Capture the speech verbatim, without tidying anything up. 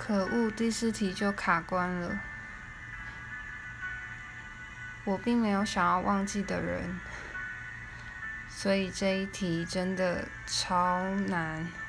可惡，第四題就卡關了。我並沒有想要忘記的人，所以這一題真的超難。